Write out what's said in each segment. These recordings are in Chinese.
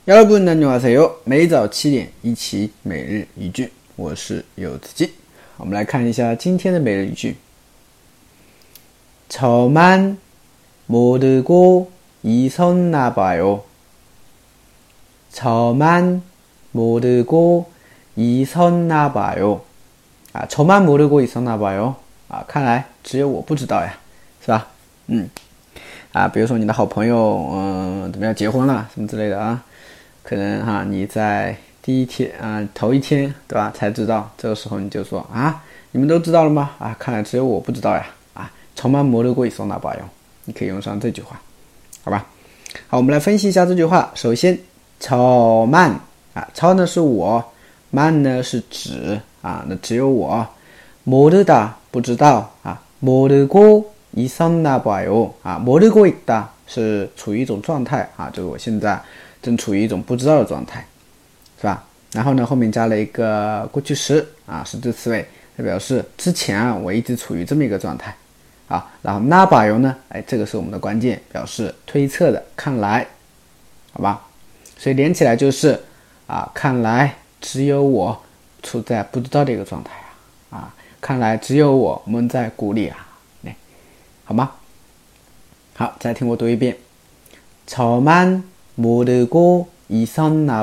여러분 안녕하세요。每早7点一起每日一句，我是柚子鸡。我们来看一下今天的每日一句。저만 모르고 있었나 봐요。저만 모르고 있었나 봐요。저만 모르고 있었나 봐요。看来只有我不知道呀，是吧？比如说你的好朋友，怎么样结婚了什么之类的啊，可能你在第一天头一天对吧才知道，这个时候你就说你们都知道了吗？看来只有我不知道呀。저만 모르고 있었나 봐요。你可以用上这句话，好吧？好，我们来分析一下这句话。首先저만 저呢是我，만呢是指那只有我，모르다不知道모르고 있었나 봐요。모르고 있다是处于一种状态就是我现在正处于一种不知道的状态，是吧？然后呢后面加了一个过去时实质词尾，代表示之前我一直处于这么一个状态然后那把油呢这个是我们的关键，表示推测的，看来，好吧？所以连起来就是看来只有我处在不知道的一个状态看来只有我们在鼓励好吗？好，再听我读一遍。저만 모르고 있었나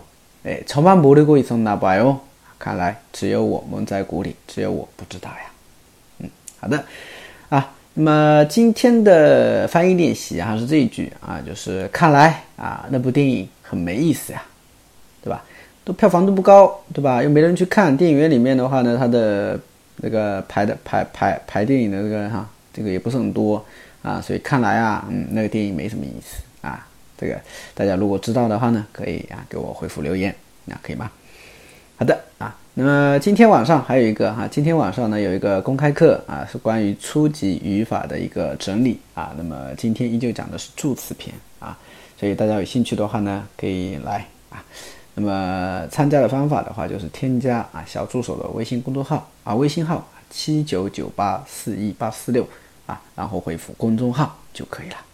봐요。저만 모르고 있었나 봐요。看来只有我们在鼓励，只有我不知道呀。好的那么今天的翻译练习是这一句就是看来那部电影很没意思呀，对吧？都票房都不高，对吧？又没人去看，电影院里面的话呢，它的那个排电影的这个也不是很多所以看来那个电影没什么意思这个大家如果知道的话呢，可以给我回复留言，可以吗？好的那么今天晚上还有一个今天晚上呢有一个公开课是关于初级语法的一个整理那么今天依旧讲的是助词篇所以大家有兴趣的话呢可以来那么参加的方法的话就是添加小助手的微信公众号微信号79984186然后回复公众号就可以了。